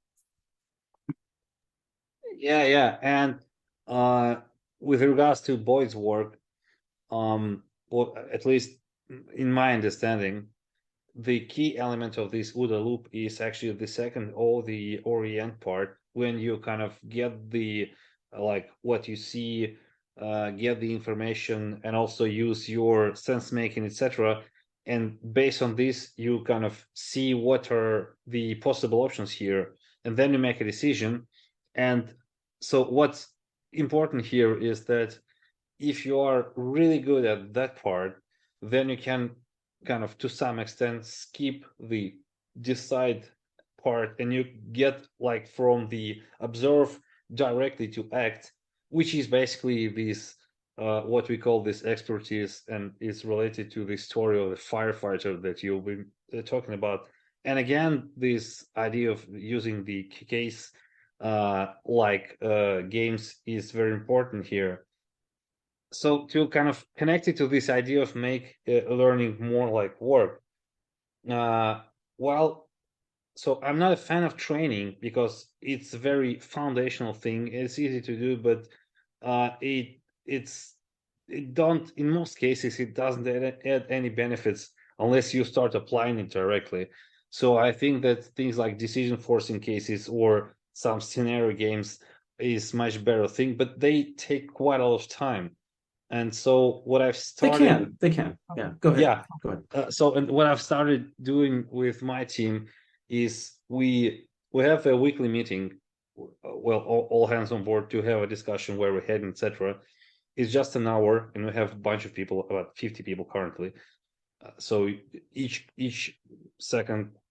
Yeah, yeah. And uh, with regards to Boyd's work, um, well, at least in my understanding, the key element of this OODA loop is actually the second or the orient part, when you kind of get the like what you see, uh, get the information, and also use your sense making, et cetera. And based on this, you kind of see what are the possible options here, and then you make a decision. And so what's important here is that if you are really good at that part, then you can kind of to some extent skip the decide part, and you get like from the observe directly to act, which is basically this uh, what we call this expertise, and is related to the story of the firefighter that you've been uh, talking about. And again, this idea of using the case uh, like uh, games is very important here. So to kind of connect it to this idea of make uh, learning more like work, uh, well, so I'm not a fan of training because it's a very foundational thing. It's easy to do, but uh, it it's it don't in most cases it doesn't add, add any benefits unless you start applying it directly. So I think that things like decision forcing cases or some scenario games is much better thing, but they take quite a lot of time. And so what I've They started, can, they can. Yeah, go ahead. yeah. Go ahead. Uh, so and what I've started doing with my team is we we have a weekly meeting, well, all, all hands on board to have a discussion where we're heading, et cetera. It's just an hour, and we have a bunch of people, about fifty people currently. Uh, so each each second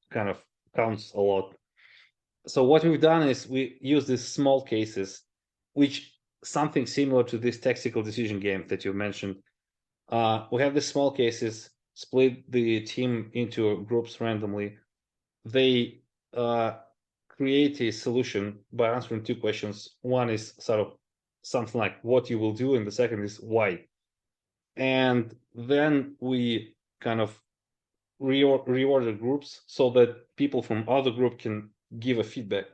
kind of counts a lot. So what we've done is we use these small cases, which something similar to this tactical decision game that you mentioned. Uh, we have these small cases, split the team into groups randomly. They uh, create a solution by answering two questions. One is sort of something like what you will do, and the second is why. And then we kind of re- reorder groups so that people from other group can give a feedback,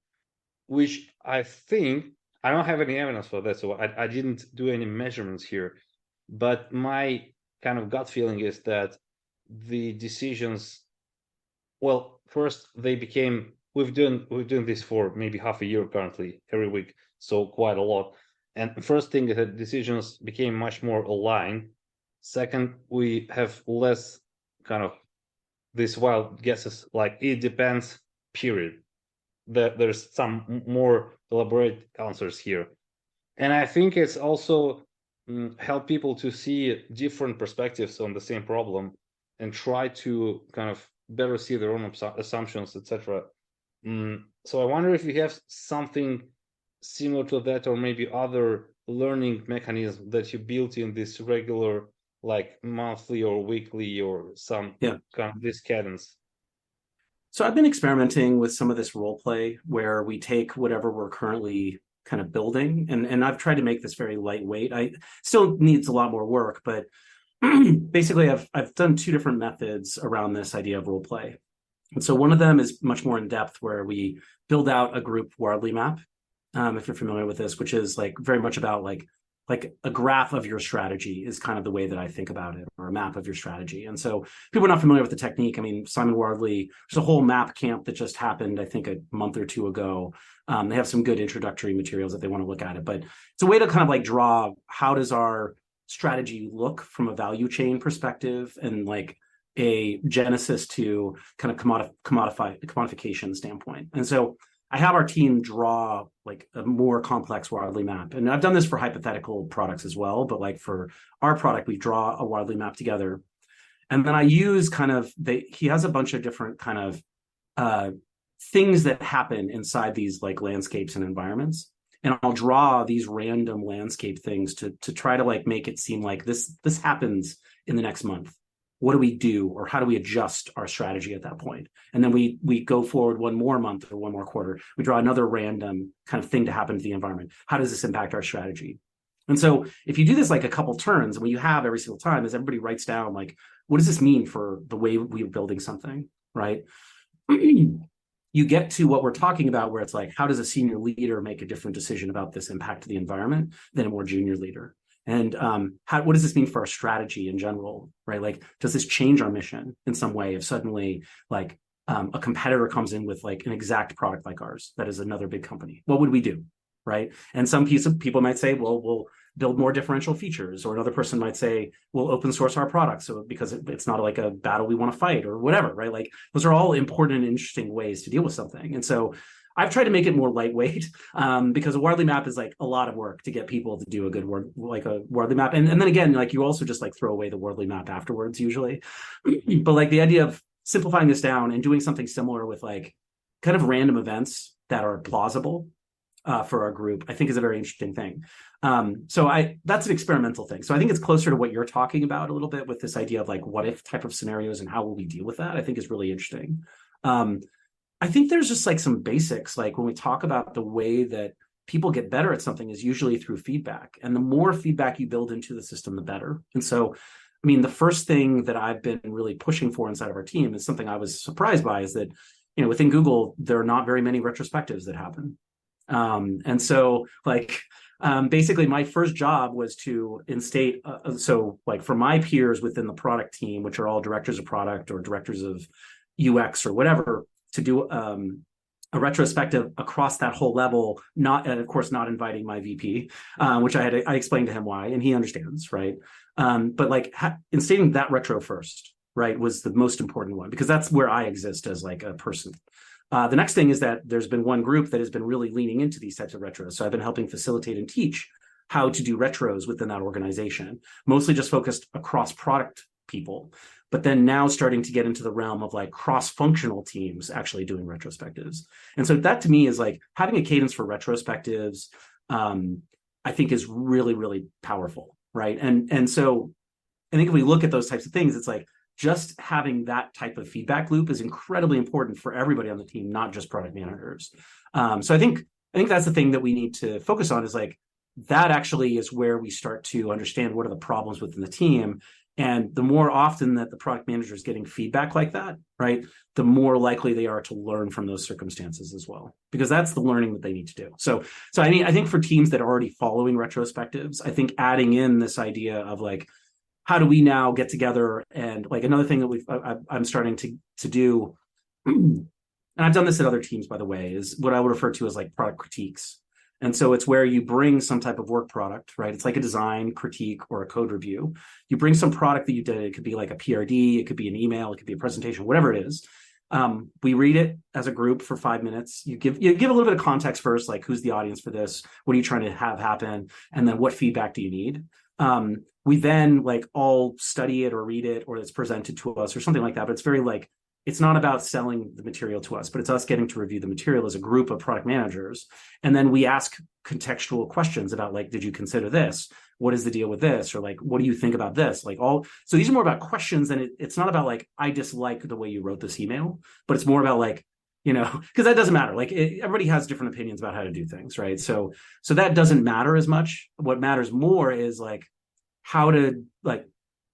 which I think, I don't have any evidence for that, so I, I didn't do any measurements here, but my kind of gut feeling is that the decisions, well, first they became, we've done we've done this for maybe half a year currently, every week, so quite a lot. And the first thing is that decisions became much more aligned. Second, we have less kind of these wild guesses, like it depends, period. That there's some more elaborate answers here. And I think it's also mm, help people to see different perspectives on the same problem and try to kind of better see their own assumptions, et cetera. Mm, so I wonder if you have something similar to that, or maybe other learning mechanism that you built in this regular, like monthly or weekly or some Yeah. kind of this cadence. So I've been experimenting with some of this role play where we take whatever we're currently kind of building, and and I've tried to make this very lightweight. I still needs a lot more work, but basically I've I've done two different methods around this idea of role play. And so one of them is much more in depth, where we build out a group Wardley map, um, if you're familiar with this, which is like very much about like like a graph of your strategy is kind of the way that I think about it, or a map of your strategy. And so people are not familiar with the technique. I mean, Simon Wardley, there's a whole map camp that just happened, I think a month or two ago. Um, they have some good introductory materials if they want to look at it, but it's a way to kind of like draw, how does our strategy look from a value chain perspective, and like a genesis to kind of commodif- commodify commodification standpoint. And so I have our team draw like a more complex Wardley map. And I've done this for hypothetical products as well, but like for our product, we draw a Wardley map together. And then I use kind of, they, he has a bunch of different kind of uh, things that happen inside these like landscapes and environments. And I'll draw these random landscape things to, to try to like make it seem like this, this happens in the next month. What do we do, or how do we adjust our strategy at that point? And then we we go forward one more month or one more quarter. We draw another random kind of thing to happen to the environment. How does this impact our strategy? And so if you do this like a couple turns, and what you have every single time is everybody writes down like, what does this mean for the way we're building something, right? You get to what we're talking about, where it's like, how does a senior leader make a different decision about this impact to the environment than a more junior leader? And um, how, what does this mean for our strategy in general, right? Like, does this change our mission in some way if suddenly like um, a competitor comes in with like an exact product like ours that is another big company? What would we do, right? And some piece of people might say, well, we'll build more differential features, or another person might say, we'll open source our product, so because it, it's not like a battle we want to fight or whatever, right? Like those are all important and interesting ways to deal with something. And so I've tried to make it more lightweight um, because a Wardley map is like a lot of work to get people to do a good word, like a Wardley map. And, and then again, like you also just like throw away the Wardley map afterwards usually. But like the idea of simplifying this down and doing something similar with like kind of random events that are plausible uh, for our group, I think is a very interesting thing. Um, so I that's an experimental thing. So I think it's closer to what you're talking about a little bit with this idea of like what if type of scenarios and how will we deal with that, I think is really interesting. Um, I think there's just like some basics, like when we talk about the way that people get better at something is usually through feedback. And the more feedback you build into the system, the better. And so, I mean, the first thing that I've been really pushing for inside of our team is something I was surprised by, is that, you know, within Google, there are not very many retrospectives that happen. Um, and so like, um, basically my first job was to instate, uh, so like for my peers within the product team, which are all directors of product or directors of U X or whatever, to do um, a retrospective across that whole level, not, and of course, not inviting my V P, uh, which I had, I explained to him why, and he understands, right? Um, but like ha- instating that retro first, right, was the most important one, because that's where I exist as like a person. Uh, the next thing is that there's been one group that has been really leaning into these types of retros. So I've been helping facilitate and teach how to do retros within that organization, mostly just focused across product people. but then now starting to get into the realm of like cross-functional teams actually doing retrospectives. And so that to me is like having a cadence for retrospectives, um, I think is really, really powerful, right? And and so I think if we look at those types of things, it's like just having that type of feedback loop is incredibly important for everybody on the team, not just product managers. Um, so I think I think that's the thing that we need to focus on is like that actually is where we start to understand what are the problems within the team. And the more often that the product manager is getting feedback like that, right, the more likely they are to learn from those circumstances as well, because that's the learning that they need to do. So, so I mean, I think for teams that are already following retrospectives, I think adding in this idea of like, how do we now get together? And like another thing that we've, I, I'm starting to to do, and I've done this at other teams, by the way, is what I would refer to as like product critiques. And so it's where you bring some type of work product, right? It's like a design critique or a code review. You bring some product that you did. It could be like a P R D, it could be an email, it could be a presentation, whatever it is. Um, we read it as a group for five minutes. You give you give a little bit of context first, like who's the audience for this? What are you trying to have happen? And then what feedback do you need? Um, we then like all study it or read it, or it's presented to us or something like that. But it's very like, it's not about selling the material to us, but it's us getting to review the material as a group of product managers. And then we ask contextual questions about like, did you consider this? What is the deal with this? Or like, what do you think about this? Like all, so these are more about questions, and it, it's not about like, I dislike the way you wrote this email, but it's more about like, you know, because that doesn't matter. Like it, everybody has different opinions about how to do things, right? So, so that doesn't matter as much. What matters more is like, how to like,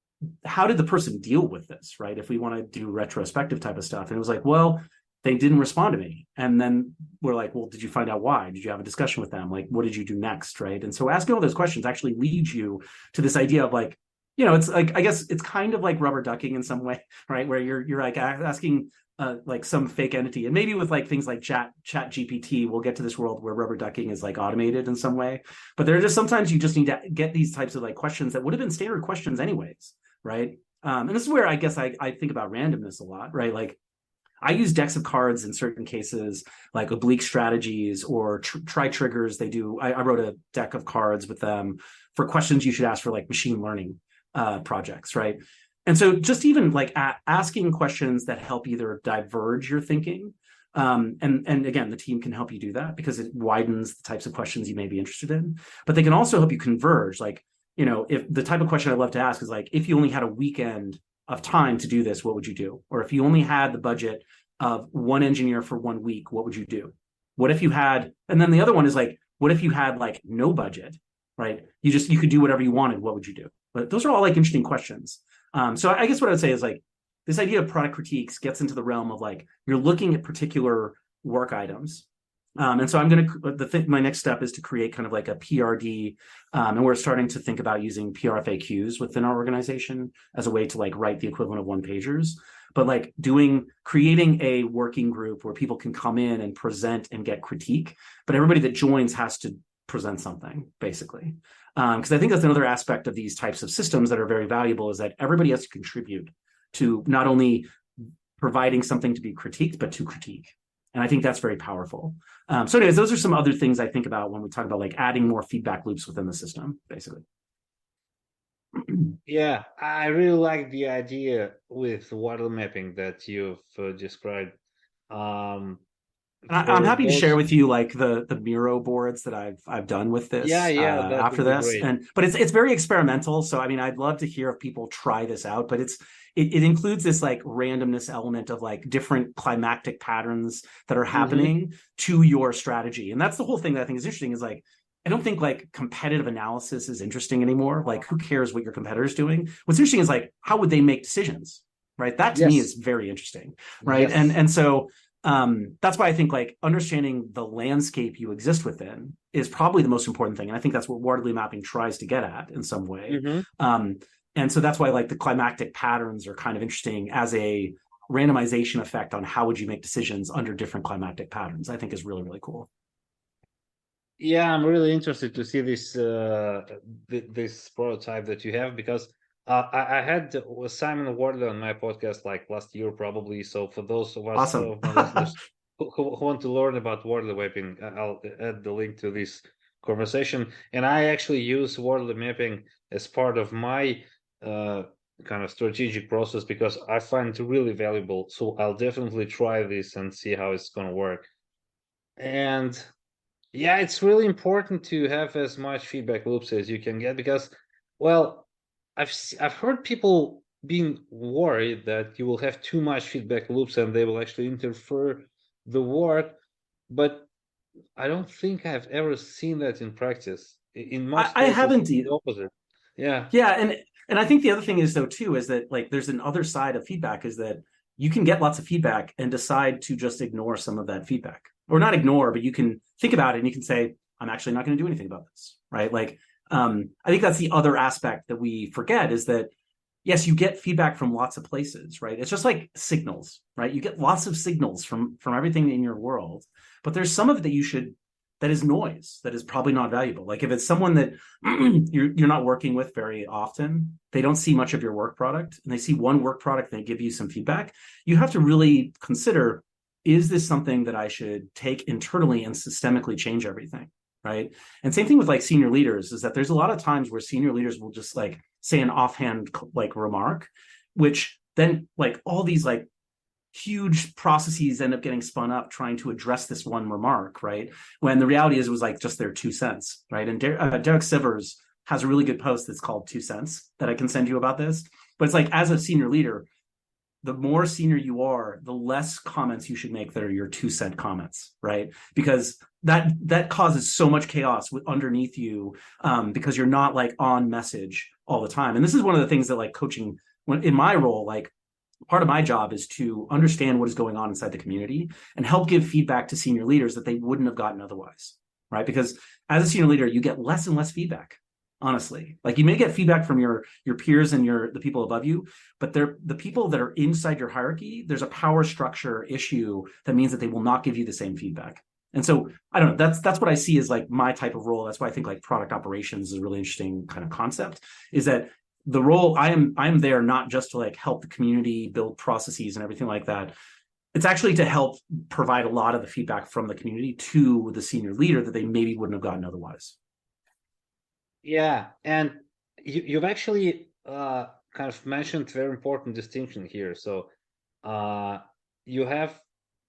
how did the person deal with this, right? If we want to do retrospective type of stuff. And it was like, well, they didn't respond to me. And then we're like, well, did you find out why? Did you have a discussion with them? Like, what did you do next, right? And so asking all those questions actually leads you to this idea of like, you know, it's like, I guess it's kind of like rubber ducking in some way, right? Where you're you're like asking uh, like some fake entity, and maybe with like things like chat chat G P T, we'll get to this world where rubber ducking is like automated in some way. But there are just sometimes you just need to get these types of like questions that would have been standard questions anyways, right? Um, and this is where I guess I, I think about randomness a lot, right? Like I use decks of cards in certain cases, like oblique strategies or tr- try triggers. They do. I, I wrote a deck of cards with them for questions you should ask for like machine learning uh, projects, right? And so just even like a- asking questions that help either diverge your thinking. Um, and, and again, the team can help you do that because it widens the types of questions you may be interested in, but they can also help you converge. Like, you know, if the type of question I love to ask is like, if you only had a weekend of time to do this, what would you do? Or if you only had the budget of one engineer for one week, what would you do? What if you had, and then the other one is like, what if you had like no budget, right? You just, you could do whatever you wanted. What would you do? But those are all like interesting questions. Um, so I guess what I would say is like, this idea of product critiques gets into the realm of like, you're looking at particular work items. Um, and so I'm going to, the thing, my next step is to create kind of like a P R D. Um, and we're starting to think about using P R F A Qs within our organization as a way to like write the equivalent of one pagers, but like doing, creating a working group where people can come in and present and get critique, but everybody that joins has to present something basically. Um, cause I think that's another aspect of these types of systems that are very valuable is that everybody has to contribute to not only providing something to be critiqued, but to critique. And I think that's very powerful. Um, so anyways, those are some other things I think about when we talk about like adding more feedback loops within the system, basically. Yeah, I really like the idea with water mapping that you've uh, described. Um, I, I'm for happy to share those, with you like the the Miro boards that I've I've done with yeah, this uh, yeah, that after would be this, great. and but it's it's very experimental. So I mean, I'd love to hear if people try this out. But it's it, it includes this like randomness element of like different climactic patterns that are Mm-hmm. happening to your strategy, and that's the whole thing that I think is interesting. Is like I don't think like competitive analysis is interesting anymore. Like who cares what your competitor's doing? What's interesting is like how would they make decisions, right? That to me is Yes, very interesting, right? And yes. and so um, that's why I think like understanding the landscape you exist within is probably the most important thing. And I think that's what Wardley mapping tries to get at in some way. Mm-hmm. Um, and so that's why like the climactic patterns are kind of interesting as a randomization effect on how would you make decisions under different climactic patterns. I think is really, really cool. Yeah, I'm really interested to see this uh, th this prototype that you have because uh, I, I had uh, Simon Wardley on my podcast like last year probably. So for those of us Awesome. of my listeners who, who want to learn about Wardley mapping, I- I'll add the link to this conversation. And I actually use Wardley mapping as part of my uh, kind of strategic process because I find it really valuable. So I'll definitely try this and see how it's going to work. And yeah, it's really important to have as much feedback loops as you can get because, well, I've I've heard people being worried that you will have too much feedback loops and they will actually interfere the work, but I don't think I've ever seen that in practice. In I, most I cases, haven't. it's the opposite. Yeah. Yeah, and and I think the other thing is though too is that like there's an other side of feedback is that you can get lots of feedback and decide to just ignore some of that feedback. Or not ignore, but you can think about it and you can say, I'm actually not going to do anything about this. Right. Like um, I think that's the other aspect that we forget is that yes, you get feedback from lots of places, right? It's just like signals, right? You get lots of signals from from everything in your world, but there's some of it that you should that is noise that is probably not valuable. Like if it's someone that you're you're not working with very often, they don't see much of your work product, and they see one work product, and they give you some feedback. You have to really consider: is this something that I should take internally and systemically change everything? Right. And same thing with like senior leaders is that there's a lot of times where senior leaders will just like say an offhand like remark, which then like all these like huge processes end up getting spun up trying to address this one remark, right? When the reality is it was like just their two cents, right? And Der- uh, Derek Sivers has a really good post that's called Two Cents that I can send you about this. But it's like as a senior leader, the more senior you are, the less comments you should make that are your two cent comments, right? Because that that causes so much chaos with underneath you um, because you're not like on message all the time. And this is one of the things that like coaching, when in my role, like part of my job is to understand what is going on inside the community and help give feedback to senior leaders that they wouldn't have gotten otherwise, right? Because as a senior leader, you get less and less feedback. Honestly, like you may get feedback from your your peers and your the people above you, but they're the people that are inside your hierarchy. There's a power structure issue that means that they will not give you the same feedback. And so I don't know. That's that's what I see as like my type of role. That's why I think like product operations is a really interesting kind of concept. Is that the role I am I am there not just to like help the community build processes and everything like that. It's actually to help provide a lot of the feedback from the community to the senior leader that they maybe wouldn't have gotten otherwise. Yeah, and you, you've actually uh, kind of mentioned very important distinction here. So uh, you have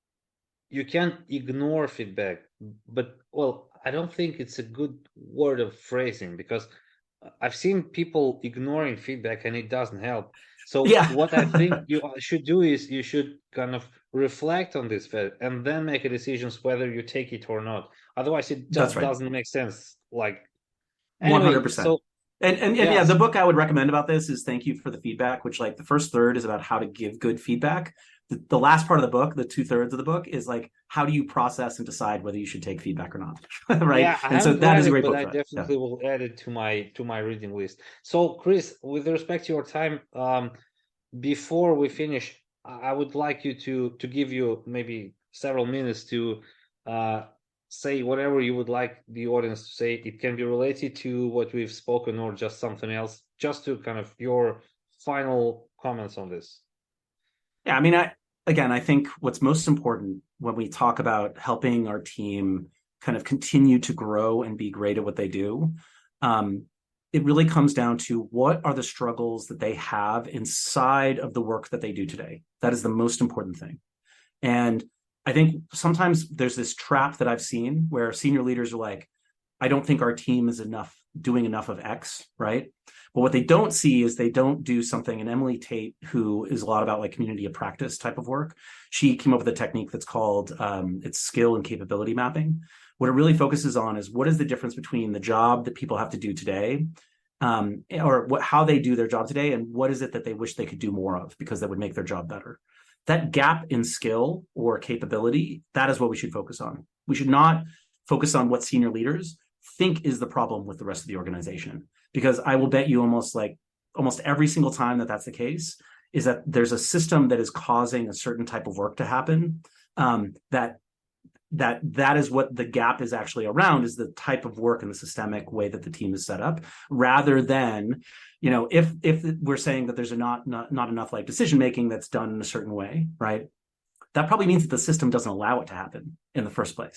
you can ignore feedback, but well, I don't think it's a good word of phrasing because I've seen people ignoring feedback and it doesn't help. So Yeah. what I think you should do is you should kind of reflect on this and then make a decision whether you take it or not. Otherwise, it That's just right. doesn't make sense. Like anyway, one hundred percent. so And, and, and yeah, yes, the book I would recommend about this is Thank You for the Feedback, which like the first third is about how to give good feedback. The, the last part of the book, the two thirds of the book is like, how do you process and decide whether you should take feedback or not? Right. yeah, I And so haven't that read is a it, great but book I for that. Yeah. definitely will add it to my to my reading list. So, Chris, with respect to your time, um, before we finish, I would like you to to give you maybe several minutes to uh, say whatever you would like the audience to say. It can be related to what we've spoken or just something else, just to kind of your final comments on this. Yeah. I mean, I, again, I think what's most important when we talk about helping our team kind of continue to grow and be great at what they do, um, it really comes down to what are the struggles that they have inside of the work that they do today. That is the most important thing. And I think sometimes there's this trap that I've seen where senior leaders are like, I don't think our team is enough doing enough of X, right? But what they don't see is they don't do something. And Emily Tate, who is a lot about like community of practice type of work, she came up with a technique that's called um, it's skill and capability mapping. What it really focuses on is what is the difference between the job that people have to do today, um, or what, how they do their job today, and what is it that they wish they could do more of because that would make their job better. That gap in skill or capability, that is what we should focus on. We should not focus on what senior leaders think is the problem with the rest of the organization, because I will bet you almost like almost every single time that that's the case is that there's a system that is causing a certain type of work to happen, um, that that that is what the gap is actually around, is the type of work and the systemic way that the team is set up, rather than, you know, if if we're saying that there's a not not, not enough like decision making that's done in a certain way, right? That probably means that the system doesn't allow it to happen in the first place.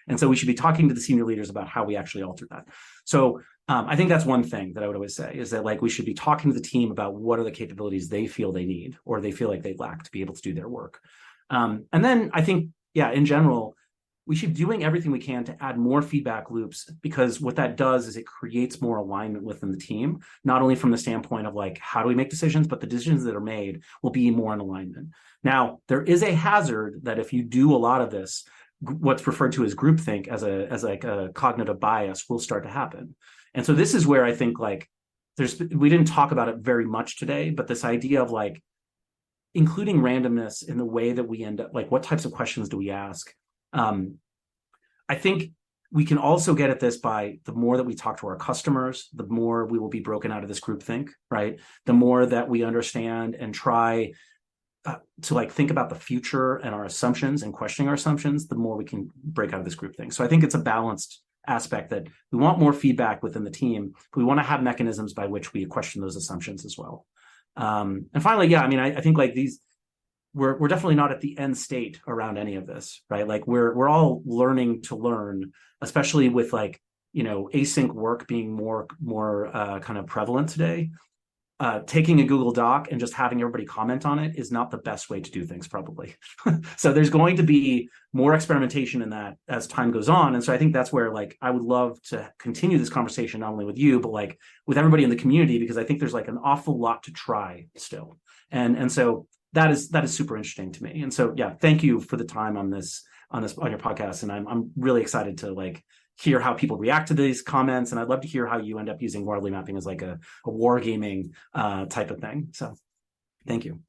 And so we should be talking to the senior leaders about how we actually alter that. So um, I think that's one thing that I would always say is that like we should be talking to the team about what are the capabilities they feel they need or they feel like they lack to be able to do their work. Um, and then I think, yeah, in general, we should be doing everything we can to add more feedback loops, because what that does is it creates more alignment within the team, not only from the standpoint of like, how do we make decisions, but the decisions that are made will be more in alignment. Now, there is a hazard that if you do a lot of this, what's referred to as groupthink as a as like a cognitive bias will start to happen. And so this is where I think like there's, we didn't talk about it very much today, but this idea of like including randomness in the way that we end up, like what types of questions do we ask? Um, I think we can also get at this by the more that we talk to our customers, the more we will be broken out of this groupthink, right? The more that we understand and try uh, to like think about the future and our assumptions and questioning our assumptions, the more we can break out of this groupthink. So I think it's a balanced aspect that we want more feedback within the team, but we want to have mechanisms by which we question those assumptions as well. Um, and finally, yeah, I mean, I, I think like these, We're we're definitely not at the end state around any of this, right? Like we're we're all learning to learn, especially with like, you know, async work being more more uh, kind of prevalent today. Uh, taking a Google Doc and just having everybody comment on it is not the best way to do things, probably. So there's going to be more experimentation in that as time goes on, and so I think that's where like I would love to continue this conversation not only with you but like with everybody in the community, because I think there's like an awful lot to try still, and and so. That is that is super interesting to me. And so, yeah, thank you for the time on this on this on your podcast. And I'm I'm really excited to like hear how people react to these comments. And I'd love to hear how you end up using Wardley mapping as like a, a wargaming uh, type of thing. So thank you.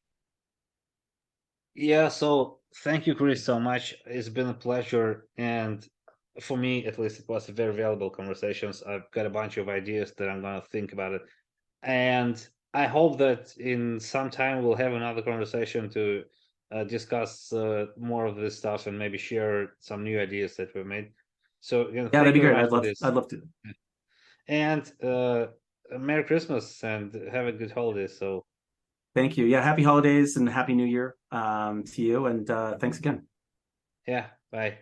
Yeah, so thank you, Chris, so much. It's been a pleasure. And for me, at least, it was a very valuable conversations. I've got a bunch of ideas that I'm going to think about it. And I hope that in some time we'll have another conversation to uh, discuss uh, more of this stuff and maybe share some new ideas that we've made. So again, yeah, that'd be great. I'd love, this. I'd love to. And uh, Merry Christmas and have a good holiday. So, thank you. Yeah, happy holidays and happy New Year um, to you. And uh, thanks again. Yeah, bye.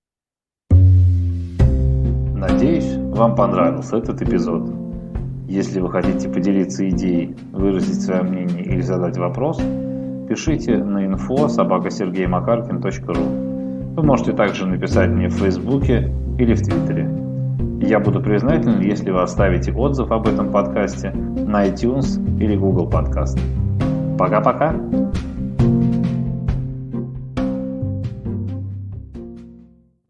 Надеюсь, вам понравился этот эпизод. Если вы хотите поделиться идеей, выразить свое мнение или задать вопрос, пишите на инфо собака сергей макаркин точка ру. Вы можете также написать мне в Фейсбуке или в Твиттере. Я буду признателен, если вы оставите отзыв об этом подкасте на iTunes или Google Podcast. Пока-пока!